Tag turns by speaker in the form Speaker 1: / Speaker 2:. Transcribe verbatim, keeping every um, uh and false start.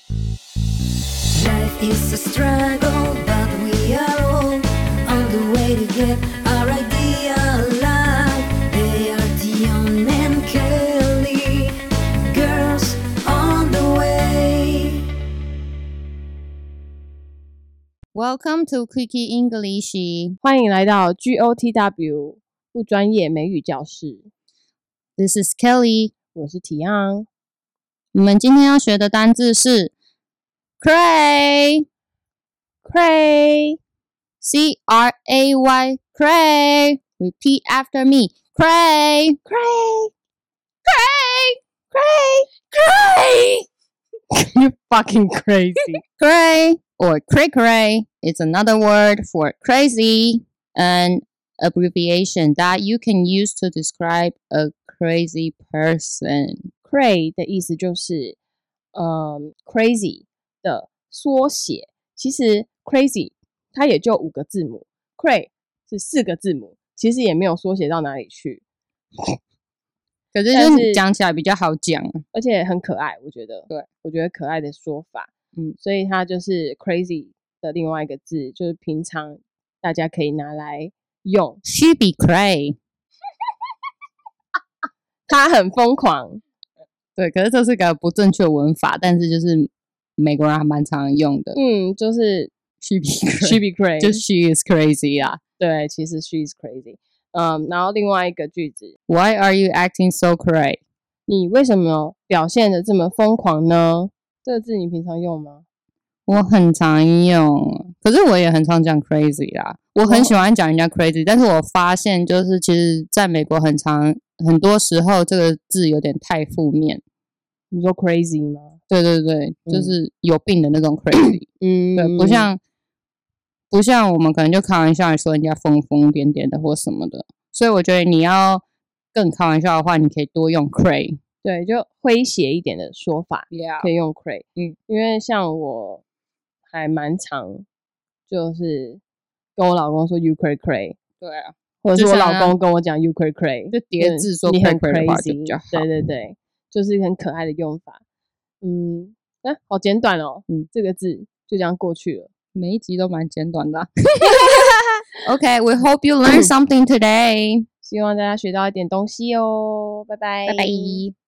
Speaker 1: Life is a struggle, but we are all on the way to get our idea alive. They are Dion and Kelly, girls on the way.
Speaker 2: Welcome to Quickie English.
Speaker 3: 欢迎来到 G O T W 不专业美语教室。
Speaker 2: This is Kelly.
Speaker 3: 我是提昂。
Speaker 2: 我们今天要学的单字是 cray
Speaker 3: Cray
Speaker 2: C R A Y cray. Repeat after me. Cray
Speaker 3: Cray
Speaker 2: cray cray.
Speaker 3: You fucking crazy.
Speaker 2: Cray or cray cray is another word for crazy, an abbreviation that you can use to describe a crazy person.
Speaker 3: Cray 的意思就是嗯 crazy 的缩写。其实 crazy 它也就五个字母， cray 是四个字母，其实也没有缩写到哪里去。
Speaker 2: 可是就是讲起来比较好讲，
Speaker 3: 而且很可爱，我觉得。
Speaker 2: 对，
Speaker 3: 我觉得可爱的说法。
Speaker 2: 嗯，
Speaker 3: 所以它就是 crazy 的另外一个字，就是平常大家可以拿来用。
Speaker 2: She be cray.
Speaker 3: 他很疯狂。
Speaker 2: 对，可是这是个不正确文法，但是就是美国人还蛮常用的。
Speaker 3: 嗯，就是
Speaker 2: She be cray.
Speaker 3: she be crazy，
Speaker 2: 就 she is crazy 啊。
Speaker 3: 对，其实 she is crazy。嗯，然后另外一个句子
Speaker 2: ，Why are you acting so cray？
Speaker 3: 你为什么表现得这么疯狂呢？这个字你平常用吗？
Speaker 2: 我很常用，可是我也很常讲 crazy 啦。我很喜欢讲人家 crazy， 但是我发现就是其实在美国很常很多时候这个字有点太负面。
Speaker 3: 你说 crazy 吗？
Speaker 2: 对对对，
Speaker 3: 嗯、
Speaker 2: 就是有病的那种 crazy。
Speaker 3: 嗯，
Speaker 2: 对，不像不像我们可能就开玩笑说人家疯疯癫癫的或什么的。所以我觉得你要更开玩笑的话，你可以多用 cray。
Speaker 3: 对，就诙谐一点的说法
Speaker 2: ，yeah.
Speaker 3: 可以用 cray。
Speaker 2: 嗯，
Speaker 3: 因为像我还蛮常就是跟我老公说 you cray cray。
Speaker 2: 对啊，
Speaker 3: 或者是我老公跟我讲 you cray cray，
Speaker 2: 就叠字说
Speaker 3: cray
Speaker 2: cray 的话就比较好。
Speaker 3: 对对对，就是很可爱的用法。嗯，啊，好简短哦。嗯，这个字就这样过去了。
Speaker 2: 每一集都蛮简短的、啊。Okay, we hope you learned something today.
Speaker 3: 希望大家学到一点东西哦。拜拜，
Speaker 2: 拜拜。